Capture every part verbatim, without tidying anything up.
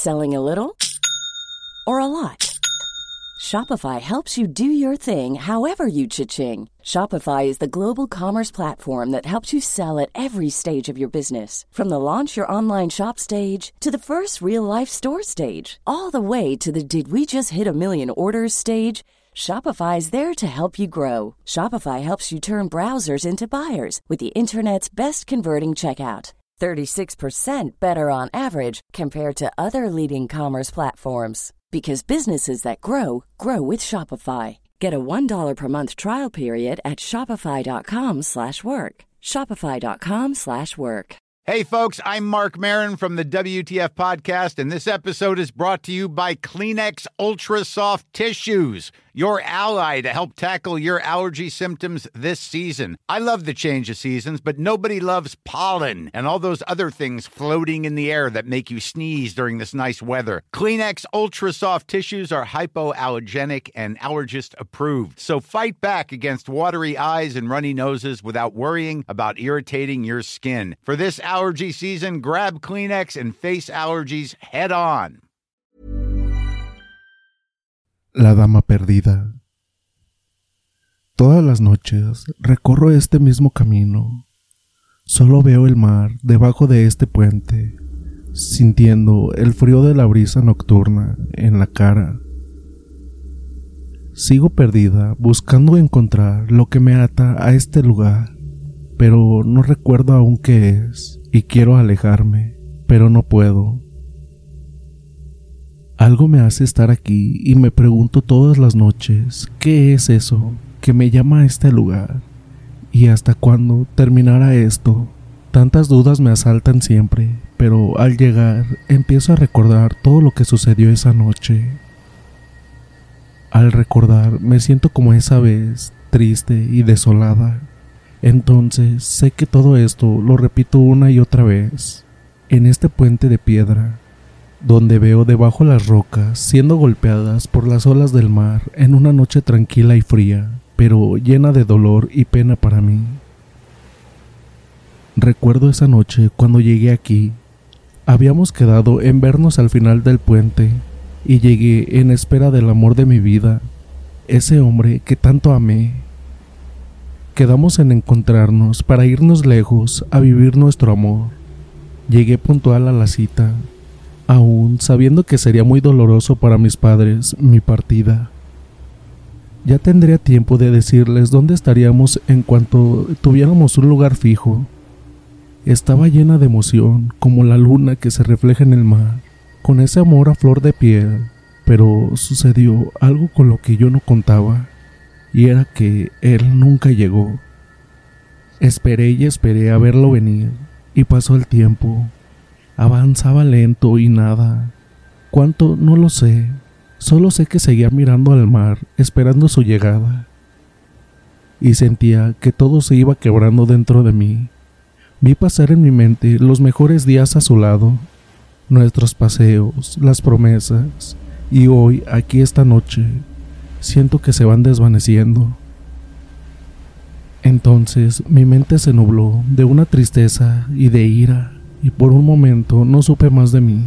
Selling a little or a lot? Shopify helps you do your thing however you cha-ching. Shopify is the global commerce platform that helps you sell at every stage of your business. From the launch your online shop stage to the first real-life store stage, all the way to the did we just hit a million orders stage. Shopify is there to help you grow. Shopify helps you turn browsers into buyers with the internet's best converting checkout. thirty-six percent better on average compared to other leading commerce platforms. Because businesses that grow, grow with Shopify. Get a one dollar per month trial period at shopify.com slash work. Shopify.com slash work. Hey folks, I'm Mark Maron from the W T F Podcast, and this episode is brought to you by Kleenex Ultra Soft Tissues, your ally to help tackle your allergy symptoms this season. I love the change of seasons, but nobody loves pollen and all those other things floating in the air that make you sneeze during this nice weather. Kleenex Ultra Soft Tissues are hypoallergenic and allergist approved, so fight back against watery eyes and runny noses without worrying about irritating your skin. For this allergy season, grab Kleenex and face allergies head on. La Dama Perdida. Todas las noches recorro este mismo camino. Solo veo el mar debajo de este puente, sintiendo el frío de la brisa nocturna en la cara. Sigo perdida buscando encontrar lo que me ata a este lugar, pero no recuerdo aún qué es y quiero alejarme, pero no puedo. Algo me hace estar aquí y me pregunto todas las noches qué es eso que me llama a este lugar y hasta cuándo terminará esto. Tantas dudas me asaltan siempre, pero al llegar empiezo a recordar todo lo que sucedió esa noche. Al recordar me siento como esa vez, triste y desolada. Entonces sé que todo esto lo repito una y otra vez, en este puente de piedra, donde veo debajo las rocas siendo golpeadas por las olas del mar en una noche tranquila y fría, pero llena de dolor y pena para mí. Recuerdo esa noche cuando llegué aquí. Habíamos quedado en vernos al final del puente y llegué en espera del amor de mi vida, ese hombre que tanto amé. Quedamos en encontrarnos para irnos lejos a vivir nuestro amor. Llegué puntual a la cita, aún sabiendo que sería muy doloroso para mis padres mi partida. Ya tendría tiempo de decirles dónde estaríamos en cuanto tuviéramos un lugar fijo. Estaba llena de emoción, como la luna que se refleja en el mar, con ese amor a flor de piel, pero sucedió algo con lo que yo no contaba, y era que él nunca llegó. Esperé y esperé a verlo venir, y pasó el tiempo. Avanzaba lento y nada. ¿Cuánto? No lo sé. Solo sé que seguía mirando al mar, esperando su llegada. Y sentía que todo se iba quebrando dentro de mí. Vi pasar en mi mente los mejores días a su lado, nuestros paseos, las promesas, y hoy, aquí esta noche, siento que se van desvaneciendo. Entonces mi mente se nubló de una tristeza y de ira, y por un momento no supe más de mí.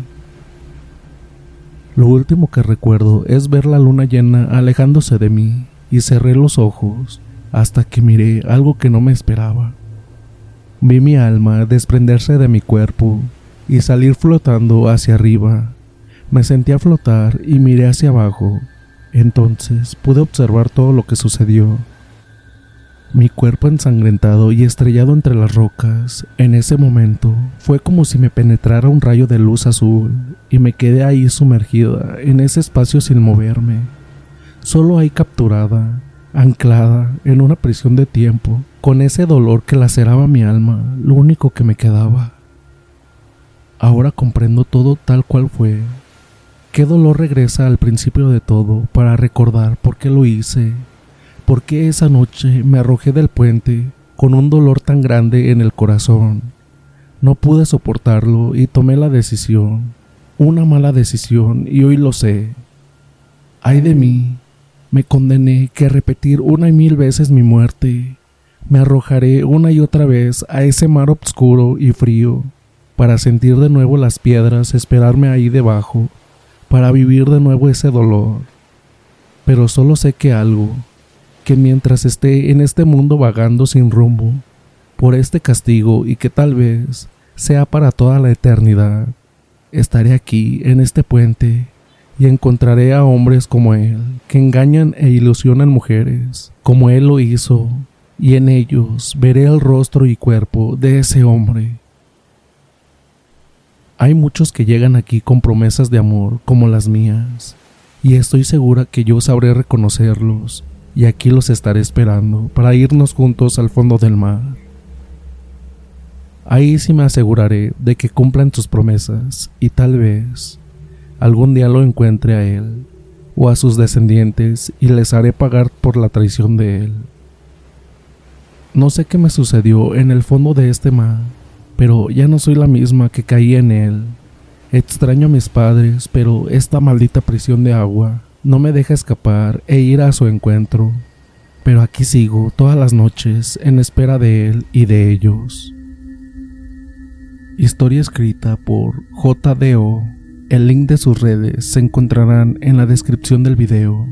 Lo último que recuerdo es ver la luna llena alejándose de mí, y cerré los ojos hasta que miré algo que no me esperaba. Vi mi alma desprenderse de mi cuerpo y salir flotando hacia arriba. Me sentí a flotar y miré hacia abajo. Entonces pude observar todo lo que sucedió. Mi cuerpo ensangrentado y estrellado entre las rocas, en ese momento, fue como si me penetrara un rayo de luz azul y me quedé ahí sumergida en ese espacio sin moverme, solo ahí capturada, anclada en una prisión de tiempo, con ese dolor que laceraba mi alma, lo único que me quedaba. Ahora comprendo todo tal cual fue. Qué dolor regresa al principio de todo para recordar por qué lo hice. ¿Por qué esa noche me arrojé del puente con un dolor tan grande en el corazón? No pude soportarlo y tomé la decisión, una mala decisión, y hoy lo sé. Ay de mí, me condené que a repetir una y mil veces mi muerte. Me arrojaré una y otra vez a ese mar oscuro y frío, para sentir de nuevo las piedras, esperarme ahí debajo, para vivir de nuevo ese dolor. Pero solo sé que algo, que mientras esté en este mundo vagando sin rumbo, por este castigo y que tal vez sea para toda la eternidad, estaré aquí en este puente y encontraré a hombres como él, que engañan e ilusionan mujeres, como él lo hizo, y en ellos veré el rostro y cuerpo de ese hombre. Hay muchos que llegan aquí con promesas de amor como las mías, y estoy segura que yo sabré reconocerlos, y aquí los estaré esperando para irnos juntos al fondo del mar. Ahí sí me aseguraré de que cumplan sus promesas, y tal vez algún día lo encuentre a él o a sus descendientes y les haré pagar por la traición de él. No sé qué me sucedió en el fondo de este mar, pero ya no soy la misma que caí en él. Extraño a mis padres, pero esta maldita prisión de agua no me deja escapar e ir a su encuentro. Pero aquí sigo todas las noches en espera de él y de ellos. Historia escrita por J D O. El link de sus redes se encontrarán en la descripción del video.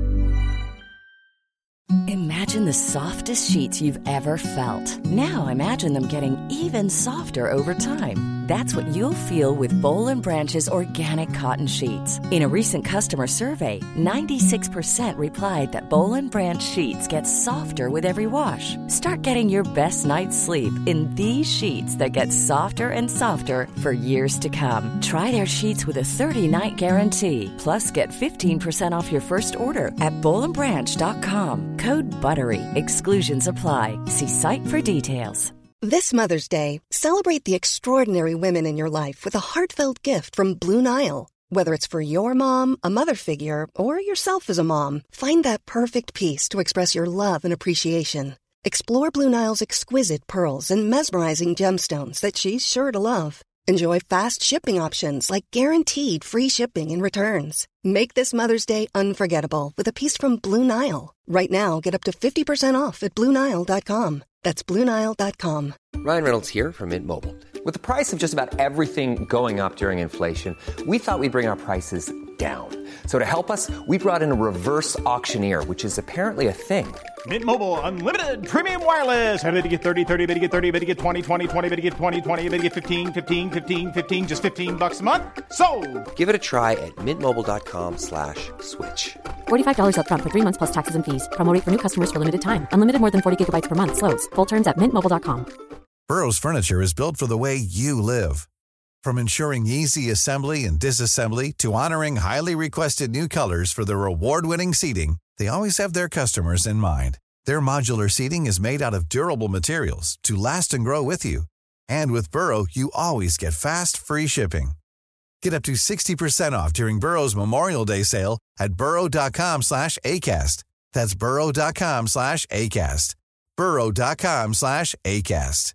Imagine the softest sheets you've ever felt. Now imagine them getting even softer over time. That's what you'll feel with Boll and Branch's organic cotton sheets. In a recent customer survey, ninety-six percent replied that Boll and Branch sheets get softer with every wash. Start getting your best night's sleep in these sheets that get softer and softer for years to come. Try their sheets with a thirty-night guarantee. Plus, get fifteen percent off your first order at boll and branch dot com. Code BUTTERY. Exclusions apply. See site for details. This Mother's Day, celebrate the extraordinary women in your life with a heartfelt gift from Blue Nile. Whether it's for your mom, a mother figure, or yourself as a mom, find that perfect piece to express your love and appreciation. Explore Blue Nile's exquisite pearls and mesmerizing gemstones that she's sure to love. Enjoy fast shipping options like guaranteed free shipping and returns. Make this Mother's Day unforgettable with a piece from Blue Nile. Right now, get up to fifty percent off at blue nile dot com. That's blue nile dot com. Ryan Reynolds here from Mint Mobile. With the price of just about everything going up during inflation, we thought we'd bring our prices down. So to help us, we brought in a reverse auctioneer, which is apparently a thing. Mint Mobile Unlimited Premium Wireless. How to get thirty, thirty, how to get thirty, how to get twenty, twenty, twenty, how to get twenty, twenty, how to get fifteen, fifteen, fifteen, fifteen, just fifteen bucks a month? Sold! Give it a try at mintmobile.com slash switch. forty-five dollars up front for three months plus taxes and fees. Promo rate for new customers for limited time. Unlimited more than forty gigabytes per month. Slows full terms at mint mobile dot com. Burrow's furniture is built for the way you live. From ensuring easy assembly and disassembly to honoring highly requested new colors for their award-winning seating, they always have their customers in mind. Their modular seating is made out of durable materials to last and grow with you. And with Burrow, you always get fast, free shipping. Get up to sixty percent off during Burrow's Memorial Day sale at burrow.com slash ACAST. That's burrow.com slash ACAST. burrow.com slash ACAST.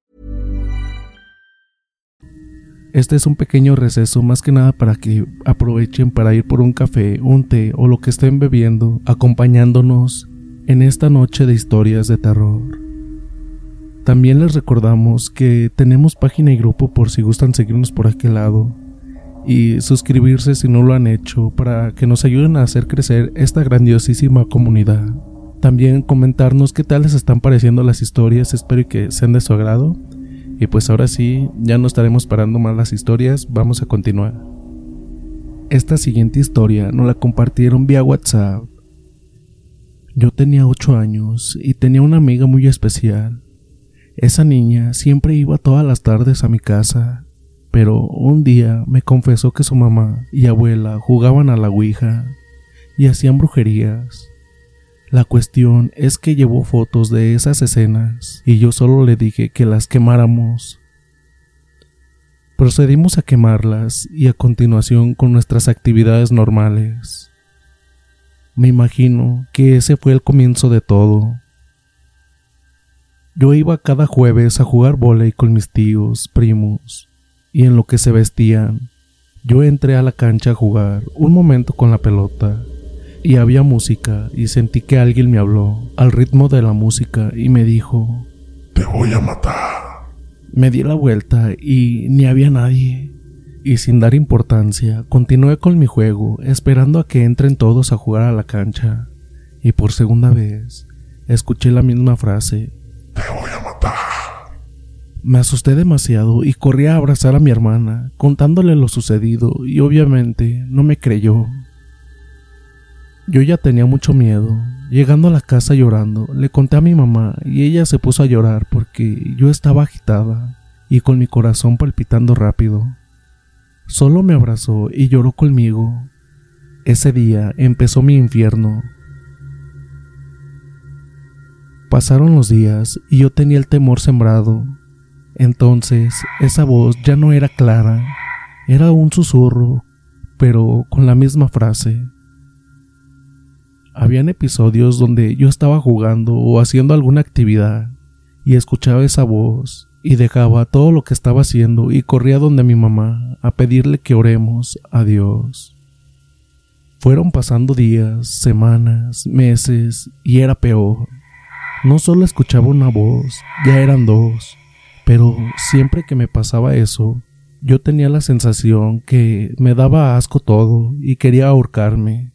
Este es un pequeño receso más que nada para que aprovechen para ir por un café, un té o lo que estén bebiendo, acompañándonos en esta noche de historias de terror. También les recordamos que tenemos página y grupo por si gustan seguirnos por aquel lado y suscribirse si no lo han hecho para que nos ayuden a hacer crecer esta grandiosísima comunidad. También comentarnos qué tal les están pareciendo las historias, espero que sean de su agrado. Y pues ahora sí, ya no estaremos parando más las historias, vamos a continuar. Esta siguiente historia nos la compartieron vía WhatsApp. Yo tenía ocho años y tenía una amiga muy especial. Esa niña siempre iba todas las tardes a mi casa, pero un día me confesó que su mamá y abuela jugaban a la ouija y hacían brujerías. La cuestión es que llevó fotos de esas escenas y yo solo le dije que las quemáramos. Procedimos a quemarlas y a continuación con nuestras actividades normales. Me imagino que ese fue el comienzo de todo. Yo iba cada jueves a jugar vóley con mis tíos, primos, y en lo que se vestían, yo entré a la cancha a jugar un momento con la pelota. Y había música y sentí que alguien me habló al ritmo de la música y me dijo: te voy a matar. Me di la vuelta y ni había nadie. Y sin dar importancia, continué con mi juego, esperando a que entren todos a jugar a la cancha. Y por segunda vez, escuché la misma frase: "Te voy a matar". Me asusté demasiado y corrí a abrazar a mi hermana, contándole lo sucedido, y obviamente no me creyó. Yo ya tenía mucho miedo. Llegando a la casa llorando, le conté a mi mamá y ella se puso a llorar porque yo estaba agitada y con mi corazón palpitando rápido. Solo me abrazó y lloró conmigo. Ese día empezó mi infierno. Pasaron los días y yo tenía el temor sembrado. Entonces, esa voz ya no era clara, era un susurro, pero con la misma frase. Habían episodios donde yo estaba jugando o haciendo alguna actividad y escuchaba esa voz y dejaba todo lo que estaba haciendo y corría donde mi mamá a pedirle que oremos a Dios. Fueron pasando días, semanas, meses y era peor. No solo escuchaba una voz, ya eran dos, pero siempre que me pasaba eso, yo tenía la sensación que me daba asco todo y quería ahorcarme.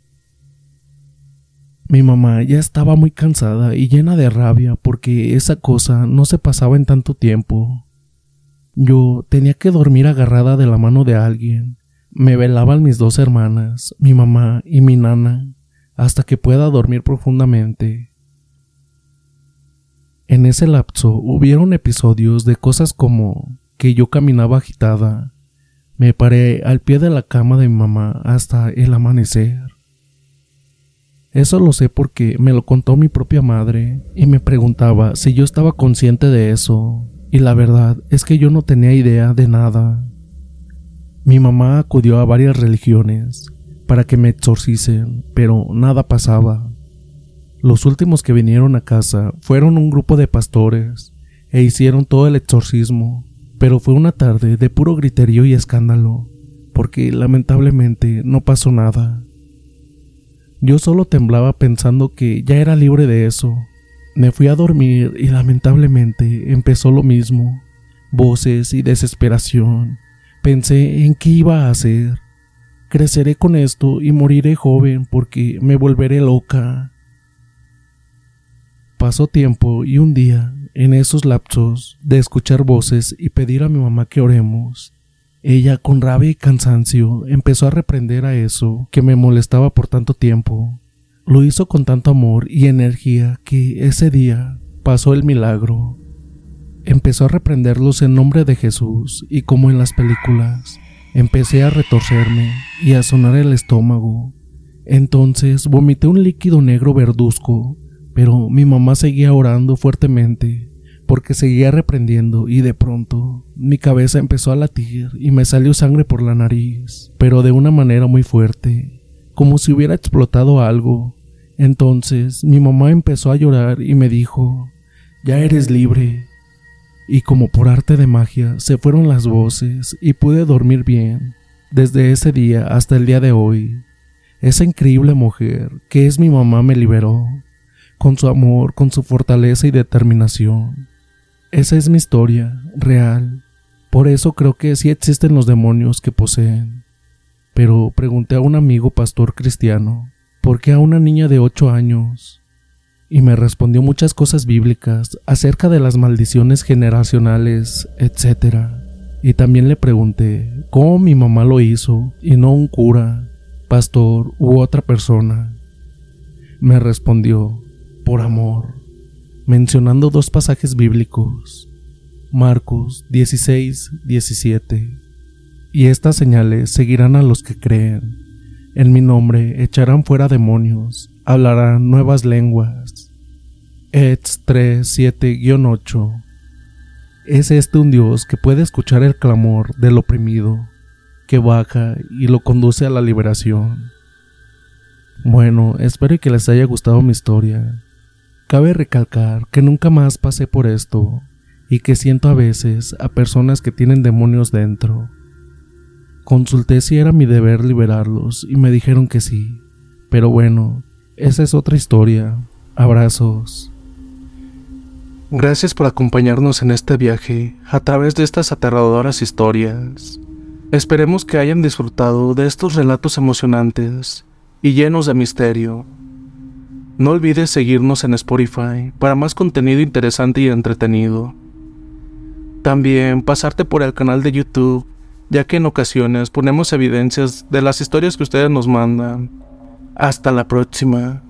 Mi mamá ya estaba muy cansada y llena de rabia porque esa cosa no se pasaba en tanto tiempo. Yo tenía que dormir agarrada de la mano de alguien. Me velaban mis dos hermanas, mi mamá y mi nana, hasta que pueda dormir profundamente. En ese lapso hubieron episodios de cosas como que yo caminaba agitada. Me paré al pie de la cama de mi mamá hasta el amanecer. Eso lo sé porque me lo contó mi propia madre y me preguntaba si yo estaba consciente de eso, y la verdad es que yo no tenía idea de nada. Mi mamá acudió a varias religiones para que me exorcicen, pero nada pasaba. Los últimos que vinieron a casa fueron un grupo de pastores e hicieron todo el exorcismo, pero fue una tarde de puro griterío y escándalo, porque lamentablemente no pasó nada. Yo solo temblaba pensando que ya era libre de eso. Me fui a dormir y lamentablemente empezó lo mismo. Voces y desesperación. Pensé en qué iba a hacer. Creceré con esto y moriré joven porque me volveré loca. Pasó tiempo y un día, en esos lapsos de escuchar voces y pedir a mi mamá que oremos, ella, con rabia y cansancio, empezó a reprender a eso que me molestaba por tanto tiempo. Lo hizo con tanto amor y energía que ese día pasó el milagro. Empezó a reprenderlos en nombre de Jesús y, como en las películas, empecé a retorcerme y a sonar el estómago. Entonces vomité un líquido negro verduzco, pero mi mamá seguía orando fuertemente porque seguía reprendiendo y de pronto mi cabeza empezó a latir y me salió sangre por la nariz, pero de una manera muy fuerte, como si hubiera explotado algo. Entonces mi mamá empezó a llorar y me dijo: "Ya eres libre". Y como por arte de magia se fueron las voces y pude dormir bien. Desde ese día hasta el día de hoy, esa increíble mujer que es mi mamá me liberó, con su amor, con su fortaleza y determinación. Esa es mi historia, real. Por eso creo que sí existen los demonios que poseen. Pero pregunté a un amigo pastor cristiano, ¿por qué a una niña de ocho años? Y me respondió muchas cosas bíblicas acerca de las maldiciones generacionales, etcétera. Y también le pregunté cómo mi mamá lo hizo y no un cura, pastor u otra persona. Me respondió: por amor, mencionando dos pasajes bíblicos, Marcos dieciséis, diecisiete. Y estas señales seguirán a los que creen. En mi nombre echarán fuera demonios, hablarán nuevas lenguas. Hechos tres, siete a ocho. Es este un Dios que puede escuchar el clamor del oprimido, que baja y lo conduce a la liberación. Bueno, espero que les haya gustado mi historia. Cabe recalcar que nunca más pasé por esto y que siento a veces a personas que tienen demonios dentro. Consulté si era mi deber liberarlos y me dijeron que sí, pero bueno, esa es otra historia. Abrazos. Gracias por acompañarnos en este viaje a través de estas aterradoras historias. Esperemos que hayan disfrutado de estos relatos emocionantes y llenos de misterio. No olvides seguirnos en Spotify para más contenido interesante y entretenido. También pasarte por el canal de YouTube, ya que en ocasiones ponemos evidencias de las historias que ustedes nos mandan. Hasta la próxima.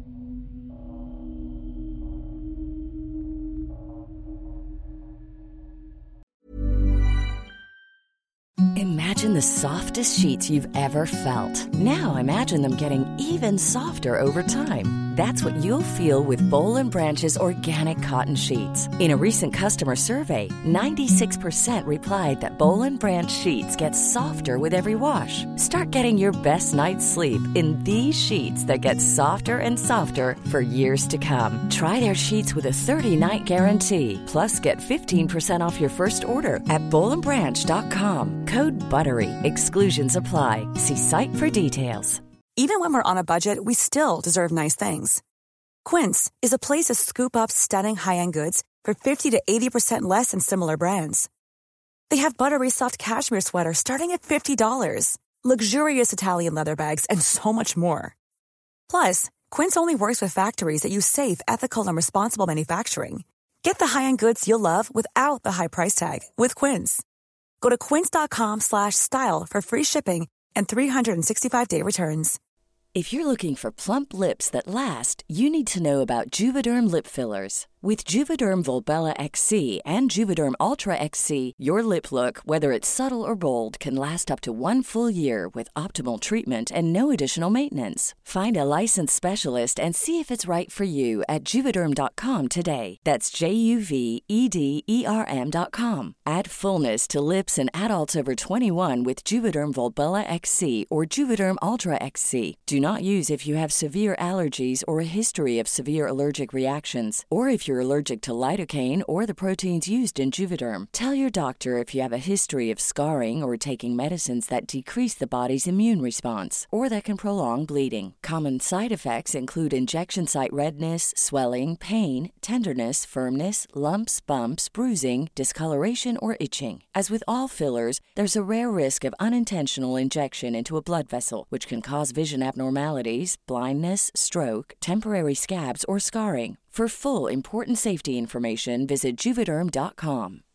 Imagine the softest sheets you've ever felt. Now imagine them getting even softer over time. That's what you'll feel with Boll and Branch's organic cotton sheets. In a recent customer survey, ninety-six percent replied that Boll and Branch sheets get softer with every wash. Start getting your best night's sleep in these sheets that get softer and softer for years to come. Try their sheets with a thirty-night guarantee. Plus, get fifteen percent off your first order at boll and branch dot com. Code BUTTERY. Exclusions apply. See site for details. Even when we're on a budget, we still deserve nice things. Quince is a place to scoop up stunning high-end goods for fifty to eighty percent less than similar brands. They have buttery soft cashmere sweaters starting at fifty dollars, luxurious Italian leather bags, and so much more. Plus, Quince only works with factories that use safe, ethical, and responsible manufacturing. Get the high-end goods you'll love without the high price tag with Quince. Go to quince.com slash style for free shipping and three sixty-five day returns. If you're looking for plump lips that last, you need to know about Juvederm lip fillers. With Juvederm Volbella X C and Juvederm Ultra X C, your lip look, whether it's subtle or bold, can last up to one full year with optimal treatment and no additional maintenance. Find a licensed specialist and see if it's right for you at Juvederm dot com today. That's J U V E D E R M dot com. Add fullness to lips in adults over twenty-one with Juvederm Volbella X C or Juvederm Ultra X C. Do not use if you have severe allergies or a history of severe allergic reactions, or if you're allergic to lidocaine or the proteins used in Juvederm. Tell your doctor if you have a history of scarring or taking medicines that decrease the body's immune response or that can prolong bleeding. Common side effects include injection site redness, swelling, pain, tenderness, firmness, lumps, bumps, bruising, discoloration, or itching. As with all fillers, there's a rare risk of unintentional injection into a blood vessel, which can cause vision abnormalities, blindness, stroke, temporary scabs, or scarring. For full important safety information, visit Juvederm dot com.